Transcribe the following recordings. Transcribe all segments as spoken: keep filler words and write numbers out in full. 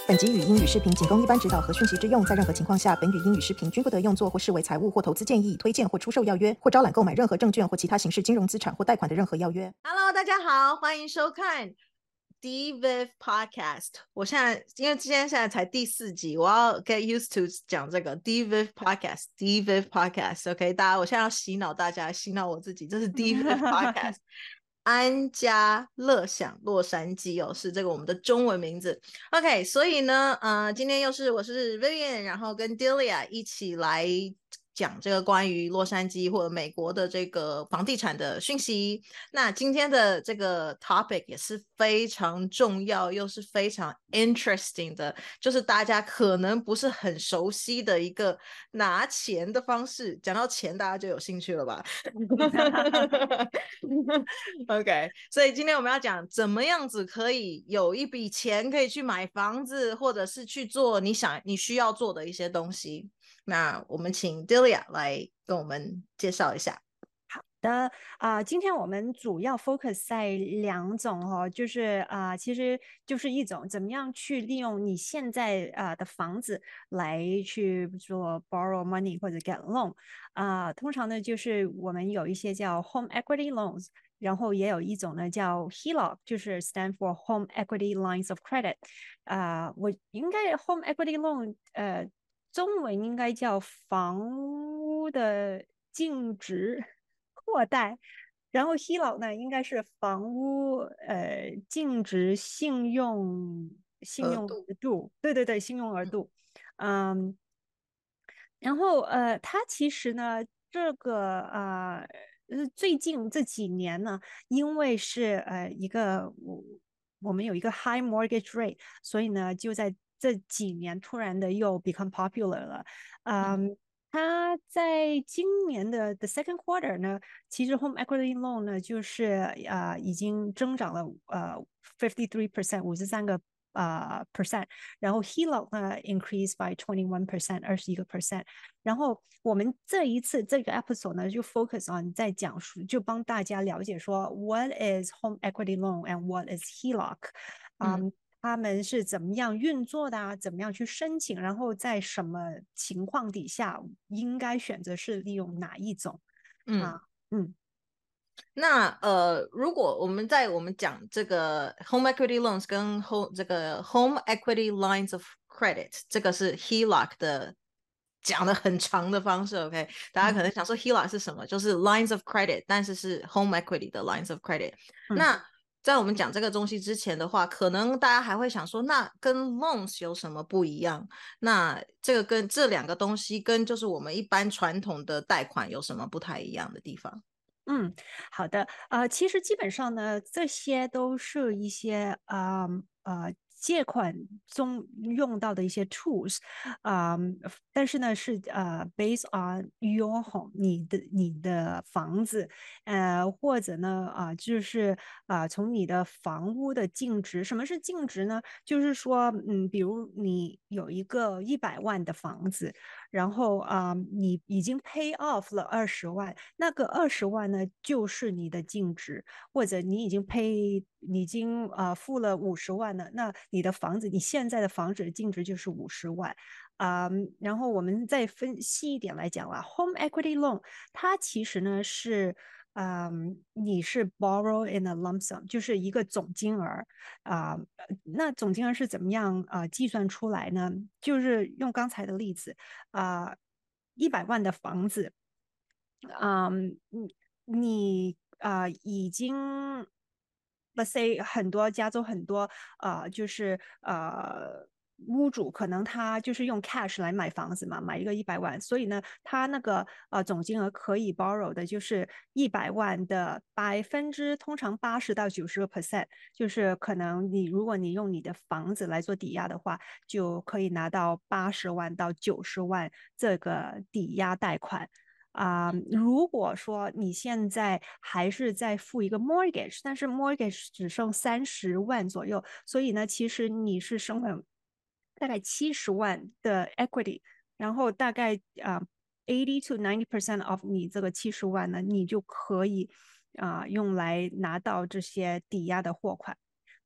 本集语音与视频仅供一般指导和讯息之用，在任何情况下，本语音与视频均不得用作或视为财务或投资建议、推荐或出售要约，或招揽购买任何证券或其他形式金融资产或贷款的任何要约。 Hello， 大家好，欢迎收看 D V I V Podcast。我现在因为今天现在才第四集，我要 get used to 讲这个 D V I V Podcast，D V I V Podcast。OK， 大家，我现在要洗脑大家，洗脑我自己，这是 D V I V Podcast。安家乐享洛杉矶哦，是这个我们的中文名字。OK， 所以呢，呃，今天又是我是 Vivian， 然后跟 Delia 一起来讲这个关于洛杉矶或者美国的这个房地产的讯息。那今天的这个 topic 也是非常重要，又是非常 interesting 的，就是大家可能不是很熟悉的一个拿钱的方式。讲到钱，大家就有兴趣了吧？OK， 所以今天我们要讲怎么样子可以有一笔钱可以去买房子，或者是去做你想你需要做的一些东西。那我们请 Delia 来跟我们介绍一下。 的啊、呃，今天我们主要 focus 在两种哦，就是啊、呃，其实就是一种怎么样去利用你现在啊、呃、的房子来去做 borrow money 或者 get loan 啊、呃，通常呢就是我们有一些叫 home equity loans， 然后也有一种呢叫 H E L O C， 就是 stand for home equity lines of credit 啊、呃，我应该 home equity loan 呃中文应该叫房屋的净值扩贷，然后 H E L O C 呢应该是房屋呃净值信用信用额度，对对对，信用额度，嗯，然后呃，它其实呢这个呃最近这几年呢，因为是呃一个我我们有一个 high mortgage rate，所以呢就在这几年突然的又 become popular 了，嗯。嗯它在今年的 the second quarter 呢，其实 home equity loan 呢就是呃已经增长了呃 fifty three percent 五十三个呃 percent，然后 H E L O C 呢 increase by twenty one percent 二十一个 percent，然后我们这一次这个 episode 呢就 focus on 在讲述，就帮大家了解说 what is home equity loan and what is H E L O C，嗯。嗯他们是怎么样运作的啊？怎么样去申请？然后在什么情况底下应该选择是利用哪一种？嗯、啊、嗯。 那呃，如果我们在我们讲这个 home equity loans 跟 home 这个 home equity lines of credit， 这个是 H E L O C 的讲的很长的方式 ，OK？ 大家可能想说 H E L O C 是什么？就是 lines of credit， 但是是 home equity 的 lines of credit。 嗯、 那在我们讲这个东西之前的话，可能大家还会想说，那跟 loans 有什么不一样？那这个跟这两个东西跟就是我们一般传统的贷款有什么不太一样的地方？ 嗯，好的，呃，其实基本上呢，这些都是一些呃呃借款中用到的一些 tools，啊、呃，但是呢是呃 based on your home， 你的你的房子，呃，或者呢啊、呃、就是啊、呃、从你的房屋的净值，什么是净值呢？就是说，嗯，比如你有一个一百万的房子。然后啊、呃，你已经 pay off 了二十万，那个二十万呢，就是你的净值，或者你已经 pay，你已经呃付了五十万了，那你的房子，你现在的房子的净值就是五十万。啊、呃，然后我们再分细一点来讲啦，home equity loan 它其实呢是。嗯，你是 borrow in a lump sum，就是一个总金额啊、呃。那总金额是怎么样啊、呃、计算出来呢？就是用刚才的例子啊，一百万的房子，嗯，你你啊、呃、已经，let's say 很多加州很多啊、呃、就是呃。屋主可能他就是用 cash 来买房子嘛，买一个一百万，所以呢，他那个呃总金额可以 borrow 的就是一百万的百分之通常八十到九十个 percent，就是可能你如果你用你的房子来做抵押的话，就可以拿到八十万到九十万这个抵押贷款。啊、呃，如果说你现在还是在付一个 mortgage， 但是 mortgage 只剩三十万左右，所以呢，其实你是剩了大概七十万的 equity，然后大概啊、呃、eighty to ninety percent of 你这个七十万呢，你就可以啊、呃、用来拿到这些抵押的货款。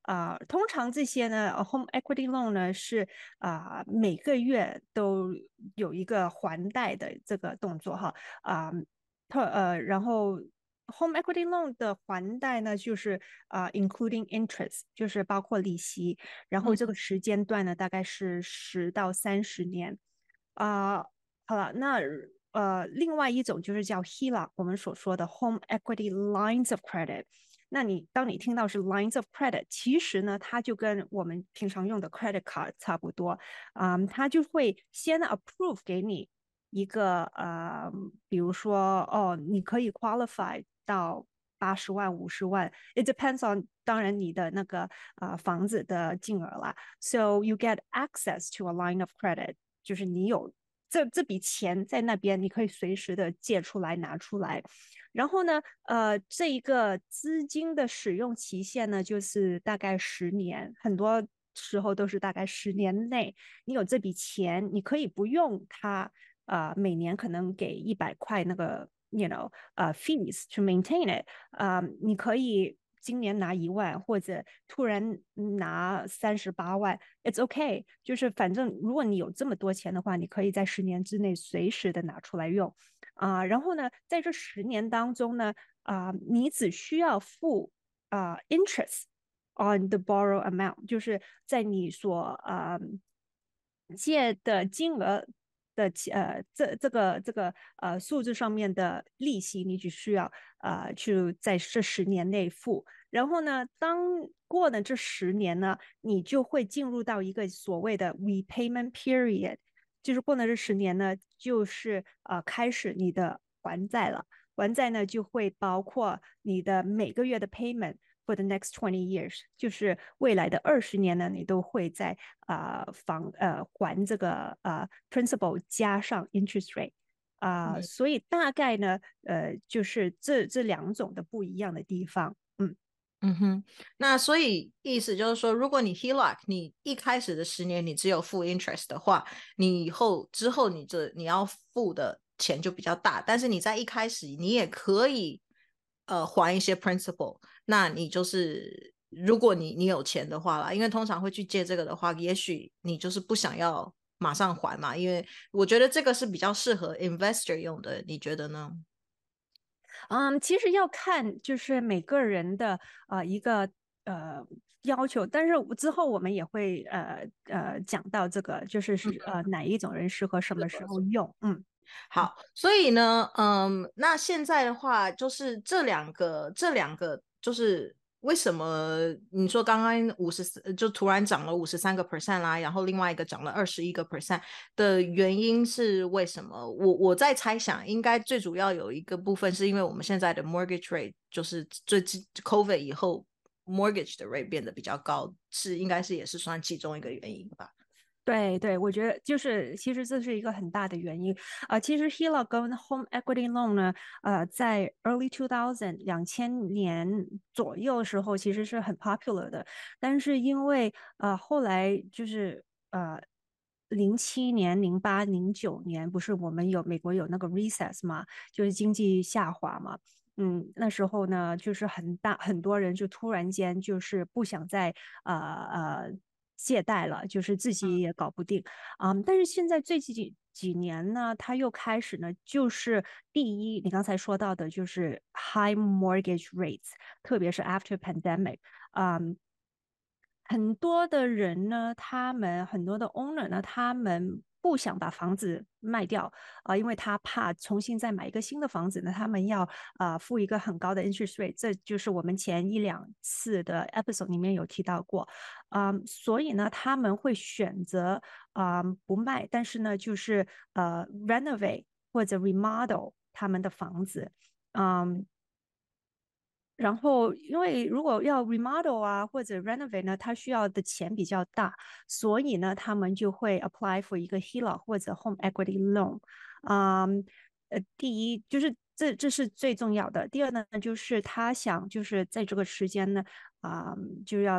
啊、呃，通常这些呢，home equity loan 呢是啊、呃、每个月都有一个还贷的这个动作哈啊，特、呃呃，然后 home equity loan 的还贷呢就是啊、呃、including interest，就是包括利息，然后这个时间段呢大概是十到三十年啊、呃。好了，那呃，另外一种就是叫 H E L O C，我们所说的 home equity lines of credit。那你当你听到是 lines of credit，其实呢，它就跟我们平常用的 credit card 差不多，嗯，它就会先 approve 给你一个呃，比如说哦，你可以 qualify 到八十万、五十万，it depends on 当然你的那个呃房子的金额啦。So you get access to a line of credit，就是你有这这笔钱在那边，你可以随时的借出来拿出来。然后呢，呃，这一个资金的使用期限呢，就是大概十年，很多时候都是大概十年内，你有这笔钱，你可以不用它，呃，每年可能给一百块那个，you know，呃，fees to maintain it，呃，你可以今年拿一万，或者突然拿三十八万，it's okay，就是反正如果你有这么多钱的话，你可以在十年之内随时的拿出来用。啊、呃，然后呢，在这十年当中呢，啊、呃，你只需要付啊、呃、interest on the borrow amount，就是在你所呃借的金额的呃这这个这个呃数字上面的利息，你只需要呃去在这十年内付。然后呢，当过了这十年呢，你就会进入到一个所谓的 repayment period。就是过了这十年呢，就是呃开始你的还债了。还债呢就会包括你的每个月的 payment for the next twenty years，就是未来的二十年呢，你都会在啊、呃、房呃还这个呃 principal 加上 interest rate。啊、呃，所以大概呢，呃，就是这这两种的不一样的地方，嗯。 嗯哼，那所以意思就是说，如果你 H E L O C， 你一开始的十年你只有付 interest 的话，你以后之后你这你要付的钱就比较大，但是你在一开始你也可以呃还一些 principal， 那你就是如果你你有钱的话啦，因为通常会去借这个的话，也许你就是不想要马上还嘛，因为我觉得这个是比较适合 investor 用的，你觉得呢？ 嗯，其实要看就是每个人的呃一个呃要求，但是之后我们也会呃呃讲到这个，就是是呃哪一种人适合什么时候用，嗯。 好，所以呢，嗯，那现在的话，就是这两个，这两个就是为什么你说刚刚五十四就突然涨了五十三个 percent 啦，然后另外一个涨了二十一个 percent 的原因是为什么？我我在猜想，应该最主要有一个部分是因为我们现在的 mortgage rate 就是最近 COVID 以后 mortgage 的 rate 变得比较高，是应该是也是算其中一个原因吧。 对对，我觉得就是其实这是一个很大的原因啊、呃。其实 H E L O C 跟 Home Equity Loan 呢，呃，在 early two thousand 两千年左右的时候其实是很 popular 的，但是因为呃后来就是呃零七年、零八、零九年不是我们有美国有那个 recess 嘛，就是经济下滑嘛。嗯，那时候呢，就是很大很多人就突然间就是不想再呃呃借贷了，就是自己也搞不定啊、嗯。但是现在最近几几年呢，他又开始呢，就是第一，你刚才说到的就是 high mortgage rates，特别是 after pandemic，嗯。很多的人呢，他们很多的 owner 呢，他们不想把房子卖掉啊、呃，因为他怕重新再买一个新的房子呢，他们要啊、呃、付一个很高的 interest rate，这就是我们前一两次的 episode 里面有提到过，啊、呃，所以呢，他们会选择啊、呃、不卖，但是呢，就是呃 renovate 或者 remodel 他们的房子，嗯、然后，因为如果要 remodel 啊或者 renovate 呢，它需要的钱比较大，所以呢，他们就会 apply for 一个 H E L O C 或者 home equity loan。嗯，呃，第一就是这这是最重要的。第二呢，就是他想就是在这个时间呢，啊、就要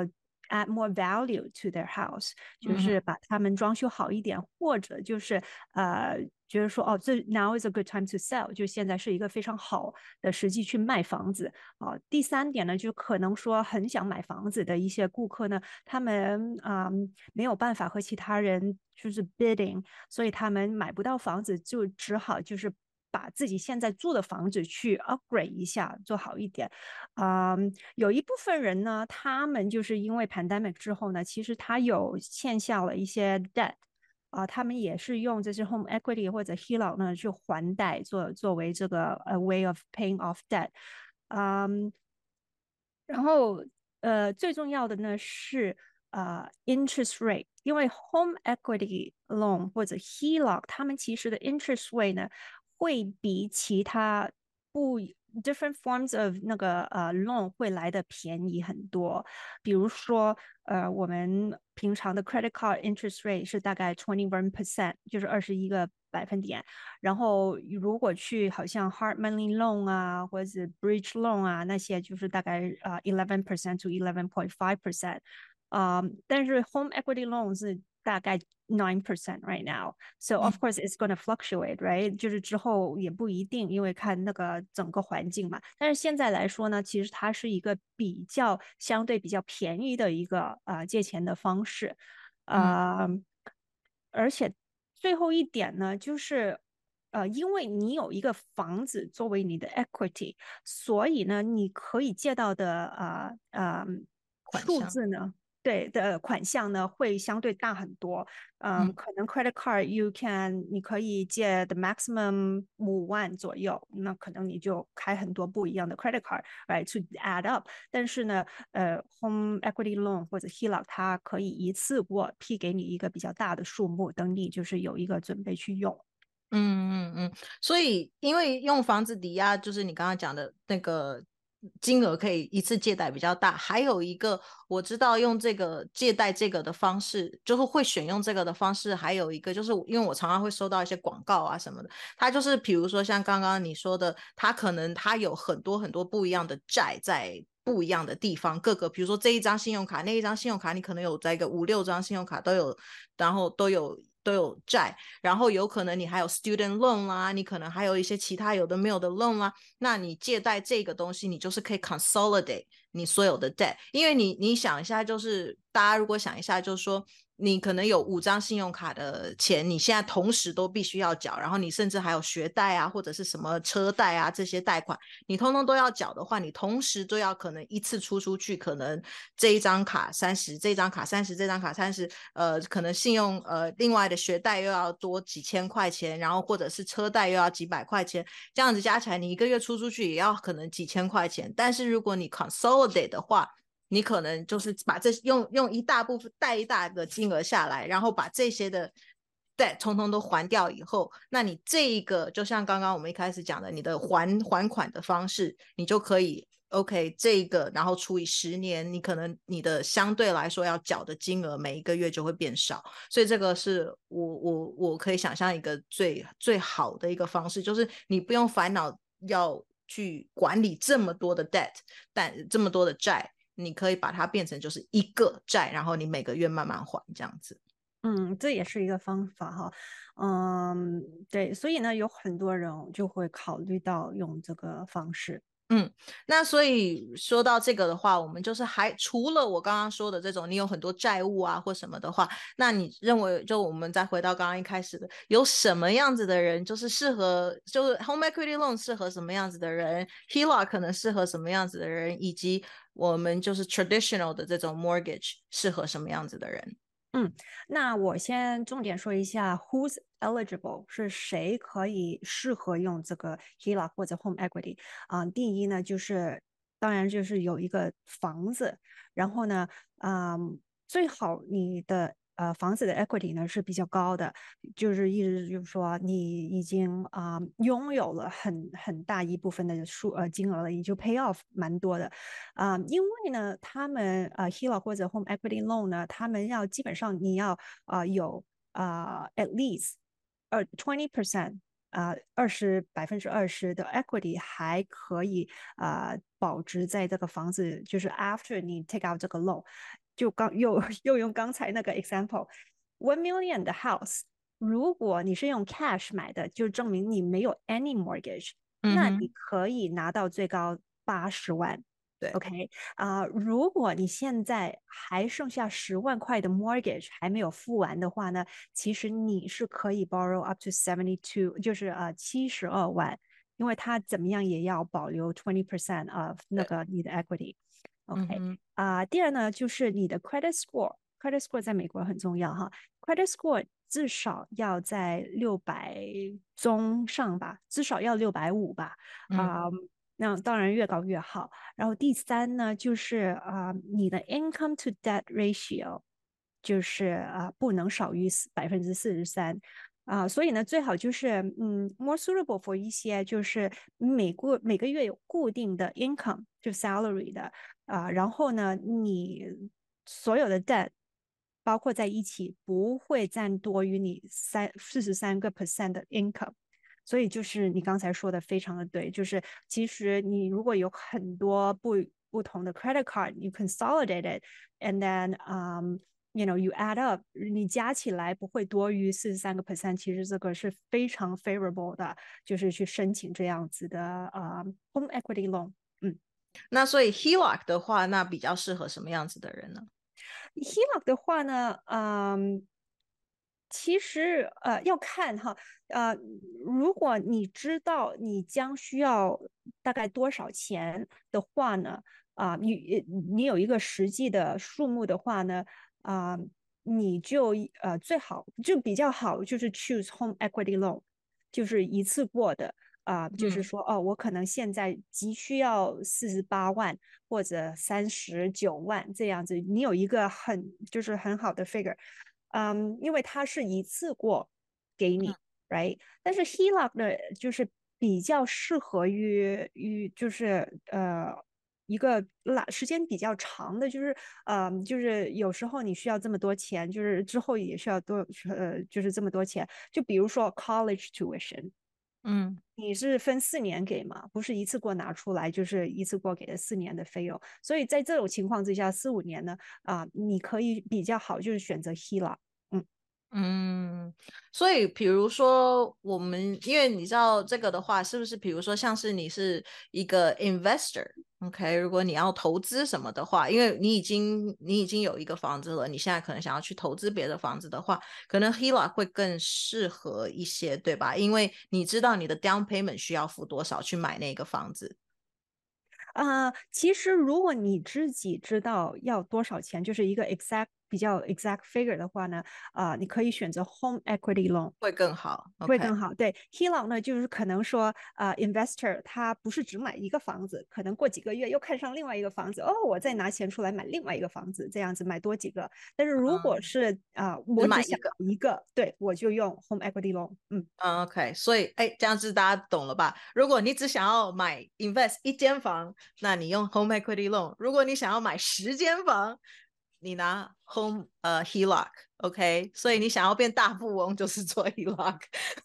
add more value to their house， 就嗯是把他们装修好一点，或者就是呃，觉得说哦，这 now is a good time to sell， 就现在是一个非常好的时机去卖房子啊、呃。第三点呢，就可能说很想买房子的一些顾客呢，他们啊、呃、没有办法和其他人就是 bidding， 所以他们买不到房子，就只好就是把自己现在住的房子去 upgrade 一下，做好一点。嗯，有一部分人呢，他们就是因为 pandemic 之后呢，其实他有欠下了一些 debt。啊、呃，他们也是用这些 home equity 或者 H E L O C 呢去还贷，作作为这个 a way of paying off debt。嗯，然后呃，最重要的呢是呃 interest rate，因为 home equity loan 或者 H E L O C， 他们其实的 interest rate 呢会比其他不 different forms of 那个呃 loan 会来的便宜很多。比如说呃，我们平常的 credit card interest rate 是大概 twenty one percent， 就是二十一个百分点。然后如果去好像 hard money loan 啊，或者 bridge loan 啊，那些就是大概呃 eleven percent to eleven point five percent。Um, 但是 home equity loan 是大概 nine percent right now. So of course it's going to fluctuate, right? 就是之后也不一定，因为看那个整个环境嘛。但是现在来说呢，其实它是一个比较相对比较便宜的一个呃借钱的方式。呃， 嗯而且最后一点呢，就是呃，因为你有一个房子作为你的 equity，所以呢，你可以借到的呃呃数款项。 字呢，对的款项呢会相对大很多。嗯， 嗯可能 credit card you can 你可以借的 maximum 五万左右，那可能你就开很多不一样的 credit card，right to add up。但是呢，呃，home equity loan 或者 H E L O C 它可以一次过批给你一个比较大的数目，等你就是有一个准备去用。 嗯嗯嗯，所以因为用房子抵押，就是你刚刚讲的那个金额可以一次借贷比较大，还有一个我知道用这个借贷这个的方式，就是会选用这个的方式，还有一个就是因为我常常会收到一些广告啊什么的，它就是比如说像刚刚你说的，它可能它有很多很多不一样的债在不一样的地方，各个比如说这一张信用卡那一张信用卡，你可能有在一个五六张信用卡都有，然后都有都有债，然后有可能你还有 student loan 啦，你可能还有一些其他有的没有的 loan 啦，那你借贷这个东西，你就是可以 consolidate 你所有的 debt， 因为你你想一下，就是大家如果想一下，就是说你可能有五张信用卡的钱，你现在同时都必须要缴，然后你甚至还有学贷啊，或者是什么车贷啊这些贷款，你通通都要缴的话，你同时都要可能一次出出去，可能这一张卡三十，这张卡三十，这张卡三十，呃，可能信用呃另外的学贷又要多几千块钱，然后或者是车贷又要几百块钱，这样子加起来你一个月出出去也要可能几千块钱。但是如果你 consolidate 的话，你可能就是把这用用一大部分贷一大的金额下来，然后把这些的 debt 通通都还掉以后，那你这一个就像刚刚我们一开始讲的，你的还还款的方式，你就可以 OK 这个，然后除以十年，你可能你的相对来说要缴的金额每一个月就会变少，所以这个是我我我可以想象一个最最好的一个方式，就是你不用烦恼要去管理这么多的 debt， 但这么多的债。你可以把它变成就是一个债，然后你每个月慢慢还这样子。 嗯，这也是一个方法哈。嗯，对，所以呢，有很多人就会考虑到用这个方式。 嗯，那所以说到这个的话，我们就是还除了我刚刚说的这种，你有很多债务啊或什么的话，那你认为就我们再回到刚刚一开始的，有什么样子的人就是适合，就是 home equity loan 适合什么样子的人 ，H E L O C 可能适合什么样子的人，以及我们就是 traditional 的这种 mortgage 适合什么样子的人？ 嗯，那我先重点说一下 who's eligible 是谁可以适合用这个 H E L O C 或者 home equity 啊、呃。第一呢，就是当然就是有一个房子，然后呢，啊、呃，最好你的呃房子的 equity 呢是比较高的，就是意思就是说你已经啊、呃、拥有了很很大一部分的数呃金额了，也就 pay off 蛮多的啊、呃。因为呢，他们呃 H E L O C 或者 home equity loan 呢，他们要基本上你要啊、呃、有啊、呃、at least 呃 twenty percent。啊，二十百分之二十的 equity 还可以啊、呃、保值在这个房子，就是 after 你 take out 这个 loan。 就刚又又用刚才那个 example，one million 的 house，如果你是用 cash 买的，就证明你没有 any mortgage，那你嗯哼， 可以拿到最高八十万。 对， OK 啊、如果你现在还剩下十万块的 mortgage 还没有付完的话呢，其实你是可以 borrow up to seventy two，就是呃七十二万，因为它怎么样也要保留 twenty percent of 那对， 个你的 equity。 嗯 OK 哼， 啊、第二呢就是你的 credit score，credit score 在美国很重要哈，credit score 至少要在六百中上吧，至少要六百五吧， 嗯啊、那当然越高越好。然后第三呢，就是啊、你的 income to debt ratio 就是啊、不能少于百分之四十三。啊，所以呢，最好就是嗯，more suitable for 一些就是每个每个月有固定的 income 就 salary 的啊，然后呢，你所有的 debt 包括在一起不会占多于你三四十三个 percent 的 income。所以就是你刚才说的非常的对，就是其实你如果有很多不不同的 credit card，you consolidate it，and then um you know you add up，你加起来不会多于四十三个 percent，其实这个是非常 favorable 的，就是去申请这样子的呃 home equity loan。嗯那所以 H E L O C 的话，那比较适合什么样子的人呢？ ，H E L O C 的话呢，嗯。其实呃要看哈，呃，如果你知道你将需要大概多少钱的话呢，啊、你你有一个实际的数目的话呢，啊、你就呃最好就比较好，就是 choose home equity loan，就是一次过的。啊、就是嗯说，哦，我可能现在急需要四十八万或者三十九万这样子，你有一个很就是很好的 figure，嗯，因为它是一次过给你，right？但是 H E L O C 呢，就是比较适合于于就是呃一个拉时间比较长的，就是呃就是有时候你需要这么多钱，就是之后也需要多呃就是这么多钱，就比如说 college tuition。 嗯。 你是分四年给嘛，不是一次过拿出来，就是一次过给了四年的费用。所以在这种情况之下，四五年呢，啊、你可以比较好，就是选择 H E L O C。嗯嗯，所以比如说我们，因为你知道这个的话，是不是比如说像是你是一个 investor，OK，如果你要投资什么的话，因为你已经你已经有一个房子了，你现在可能想要去投资别的房子的话，可能 H E L O C 会更适合一些，对吧？因为你知道你的 down payment 需要付多少去买那个房子。 啊、其实如果你自己知道要多少钱，就是一个 exact 比较 exact figure 的话呢，啊、你可以选择 home equity loan。 会更好，OK。 会更好。对 H E L O C 呢，就是可能说，呃，investor 他不是只买一个房子，可能过几个月又看上另外一个房子，哦，我再拿钱出来买另外一个房子，这样子买多几个。但是如果嗯， 是啊、呃我只想只买一个。 要一个，对我就用 home equity loan。嗯。 嗯，OK，所以哎，这样子大家懂了吧？如果你只想要买 invest 一间房，那你用 home equity loan；如果你想要买十间房，你拿 home 呃 H E L O C，OK？、所以你想要变大富翁，就是做 H E L O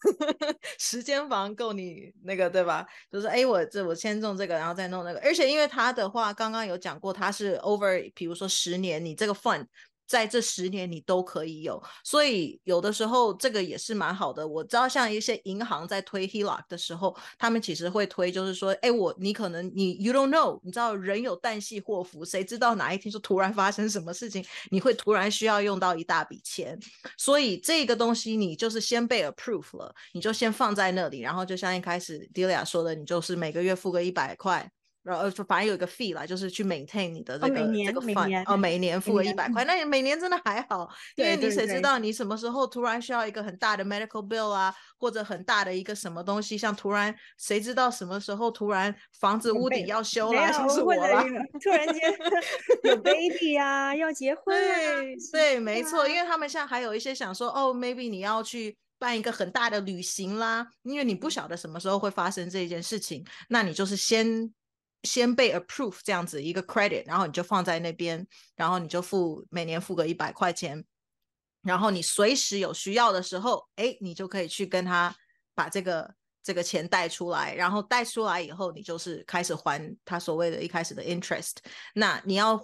C，十间房够你那个对吧？就是哎，我这我先弄这个，然后再弄那个，而且因为它的话，刚刚有讲过，它是 over，比如说十年，你这个 fund。在这十年你都可以有，所以有的时候这个也是蛮好的。我知道像一些银行在推 H E L O C 的时候，他们其实会推，就是说，哎，我你可能你 you don't know，你知道人有旦夕祸福，谁知道哪一天就突然发生什么事情，你会突然需要用到一大笔钱，所以这个东西你就是先被 approve 了，你就先放在那里，然后就像一开始 Delia 说的，你就是每个月付个一百块。然后反正有一个 fee 啦，就是去 maintain 你的哦， 这个这每年个每 fund， 年哦，每年付个一每年，嗯， 百块，那每年真的还好，因为对你对对， 谁知道你什么时候突然需要一个很大的 medical bill 啊，或者很大的一个什么东西，像突然谁知道什么时候突然房子屋顶有被要修啦， 没有， 像是或者我啦， 突然间有 baby 呀、啊要结婚啦、 对对，没错，因啊， 为他们现在还有一些想说，哦，maybe 你要去办一个很大的旅行啦，因为你不晓得什么时候会发生这件事情，那你就是先先被 approve 这样子一个 credit，然后你就放在那边，然后你就付每年付个一百块钱，然后你随时有需要的时候，哎，你就可以去跟他把这个这个钱贷出来，然后贷出来以后，你就是开始还他所谓的一开始的 interest。那你要还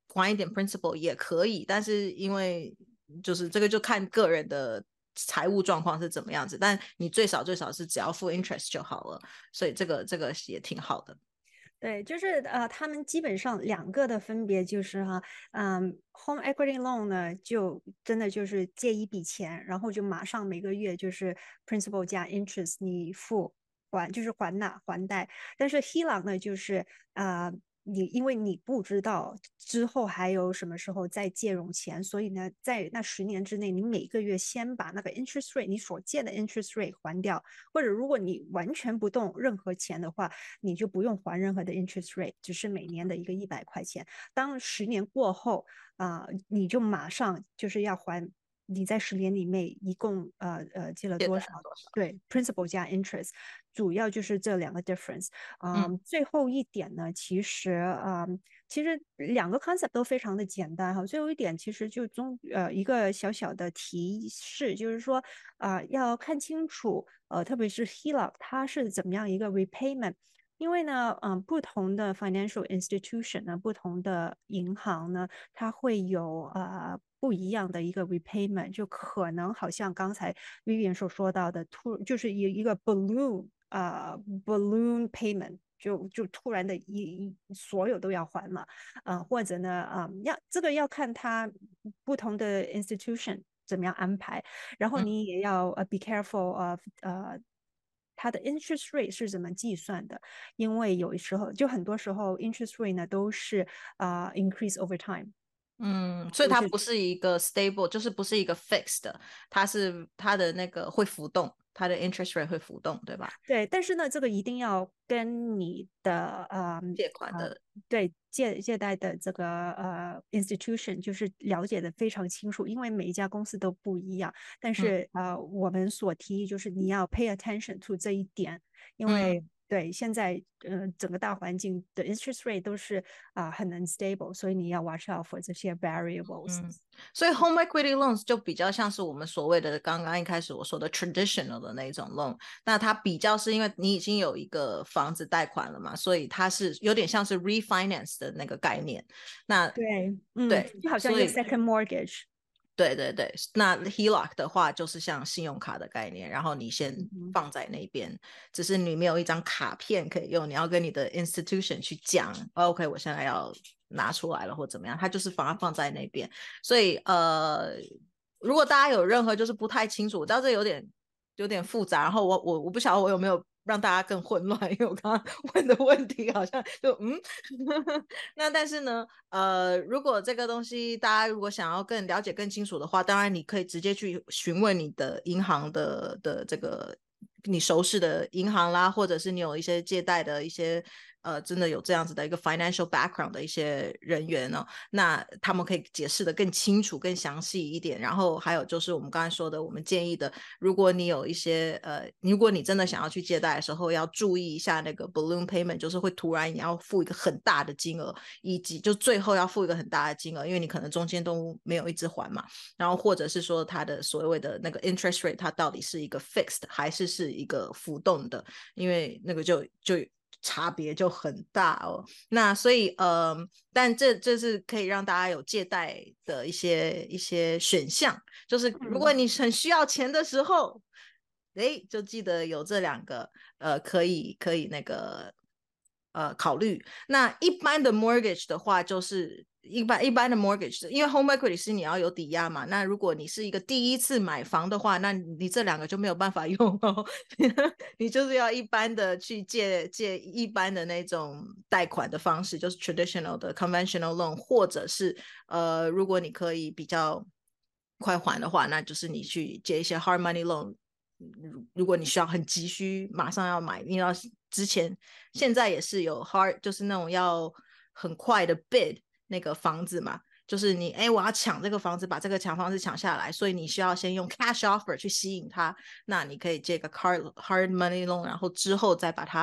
还一点 principal 也可以，但是因为就是这个就看个人的财务状况是怎么样子，但你最少最少是只要付 interest 就好了，所以这个这个也挺好的。 对，就是呃，他们基本上两个的分别就是哈，嗯，home equity loan 呢，就真的就是借一笔钱，然后就马上每个月就是 principal 加 interest 你付还，就是还纳还贷。但是 H E L O C 呢，就是呃，你因为你不知道之后还有什么时候再借用钱，所以呢，在那十年之内，你每个月先把那个 interest rate 你所借的 interest rate 还掉，或者如果你完全不动任何钱的话，你就不用还任何的 interest rate，只是每年的一个一百块钱。当十年过后啊、呃，你就马上就是要还。你在十年里面一共呃呃借了多少？ 多少对 ，principal 加 interest，主要就是这两个 difference。嗯、呃，最后一点呢，其实啊、呃，其实两个 concept 都非常的简单哈。最后一点其实就中呃一个小小的提示，就是说啊、呃、要看清楚呃特别是 H E L O C 它是怎么样一个 repayment。因为呢，嗯、呃，不同的 financial institution 呢，不同的银行呢，它会有呃不一样的一个 repayment，就可能好像刚才 Vivian 所说到的，突就是一一个 balloon 啊、呃、balloon payment。就就突然的一一所有都要还了，呃，或者呢，啊、呃，要这个要看它不同的 institution 怎么样安排，然后你也要呃 be careful of 呃它的 interest rate 是怎么计算的，因为有时候就很多时候 interest rate 呢都是啊、呃、increase over time。 嗯，所以它不是一个 stable，就是不是一个 fixed 的，它是它的那个会浮动，它的 interest rate 会浮动，对吧？ 对，但是呢，这个一定要跟你的呃借款的、 呃对借借贷的这个呃 institution 就是了解的非常清楚，因为每一家公司都不一样。但嗯是呃，我们所提议就是你要 pay attention to 这一点，因为、 嗯对现在呃整个大环境的 interest rate 都是啊、呃、很 unstable，所以你要 watch out for 这些 variables。 嗯，所以 home equity loans 就比较像是我们所谓的刚刚一开始我说的 traditional 的那种 loan，那它比较是因为你已经有一个房子贷款了嘛，所以它是有点像是 refinance 的那个概念。那对，嗯， 对， 就好像一个所以 second mortgage。 对对对，那 H E L O C 的话就是像信用卡的概念，然后你先嗯放在那边，只是你没有一张卡片可以用，你要跟你的 institution 去讲、哦、，OK， 我现在要拿出来了或怎么样，它就是把它放在那边。所以呃，如果大家有任何就是不太清楚，我知道这有点有点复杂，然后我我我不晓得我有没有让大家更混乱，因为我刚刚问的问题好像就嗯，那但是呢，呃，如果这个东西大家如果想要更了解更清楚的话，当然你可以直接去询问你的银行的的这个你熟识的银行啦，或者是你有一些借贷的一些呃，真的有这样子的一个 financial background 的一些人员呢、哦，那他们可以解释的更清楚、更详细一点。然后还有就是我们刚才说的，我们建议的，如果你有一些呃，如果你真的想要去借贷的时候，要注意一下那个 balloon payment，就是会突然你要付一个很大的金额，以及就最后要付一个很大的金额，因为你可能中间都没有一直还嘛。然后或者是说它的所谓的那个 interest rate， 它到底是一个 fixed 还是是一个浮动的，因为那个就就差别就很大哦。那所以呃，但这这是可以让大家有借贷的一些一些选项，就是如果你很需要钱的时候，哎，就记得有这两个呃，可以可以那个呃考虑。那一般的 mortgage 的话，就是一般一般的 mortgage， 因为 home equity 是你要有抵押嘛。那如果你是一个第一次买房的话，那你这两个就没有办法用哦。你就是要一般的去借借一般的那种贷款的方式，就是 traditional 的 conventional loan， 或者是呃，如果你可以比较快还的话，那就是你去借一些 hard money loan。如果你需要很急需马上要买，因为之前现在也是有 hard， 就是那种要很快的 bid 那个房子嘛，就是你哎，我要抢这个房子，把这个抢房子抢下来，所以你需要先用 cash offer 去吸引它。那你可以借个 hard hard money loan， 然后之后再把它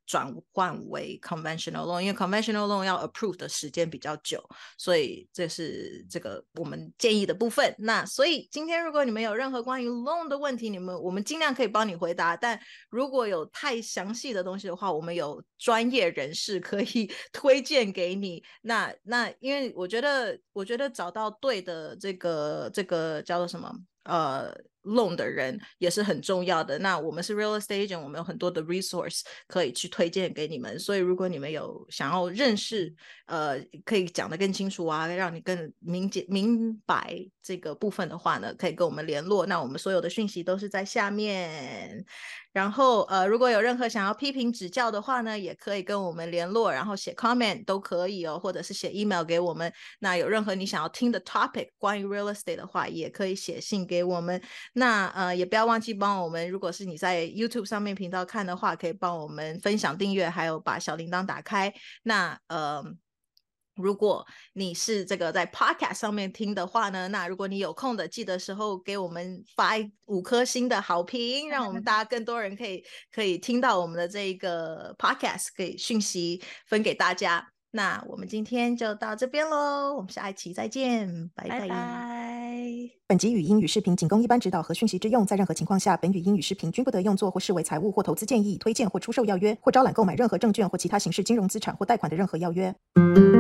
转换为 conventional loan， 因为 conventional loan 要 approve 的时间比较久，所以这是这个我们建议的部分。那所以今天如果你们有任何关于 loan 的问题，你们我们尽量可以帮你回答，但如果有太详细的东西的话，我们有专业人士可以推荐给你。那那因为我觉得我觉得找到对的这个这个叫做什么呃 loan 的人也是很重要的。那我们是 real estate agent， 我们有很多的 resource 可以去推荐给你们，所以如果你们有想要认识呃可以讲得更清楚啊，让你更明解明白这个部分的话呢，可以跟我们联络。那我们所有的讯息都是在下面，然后呃如果有任何想要批评指教的话呢，也可以跟我们联络，然后写 comment 都可以哦，或者是写 email 给我们。那有任何你想要听的 topic 关于 real estate 的话，也可以写信给我们。那呃也不要忘记帮我们，如果是你在 YouTube 上面频道看的话，可以帮我们分享订阅，还有把小铃铛打开。那呃如果你是这个在 podcast 上面听的话呢，那如果你有空的，记得时候给我们发五颗星的好评，让我们大家更多人可以可以听到我们的这个 podcast， 可以讯息分给大家。那我们今天就到这边咯，我们下一期再见，拜拜。 拜拜。 本集语音与视频仅供一般指导和讯息之用，在任何情况下，本语音与视频均不得用作或视为财务或投资建议、推荐或出售要约，或招揽购买任何证券或其他形式金融资产或贷款的任何要约。